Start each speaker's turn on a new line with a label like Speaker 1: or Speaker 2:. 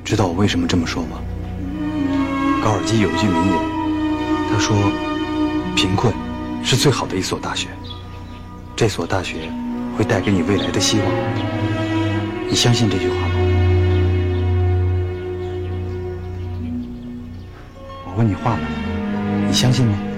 Speaker 1: 知道我为什么这么说吗？高尔基有一句名言，他说：“贫困是最好的一所大学，这所大学会带给你未来的希望。”你相信这句话吗？我问你话呢，你相信吗？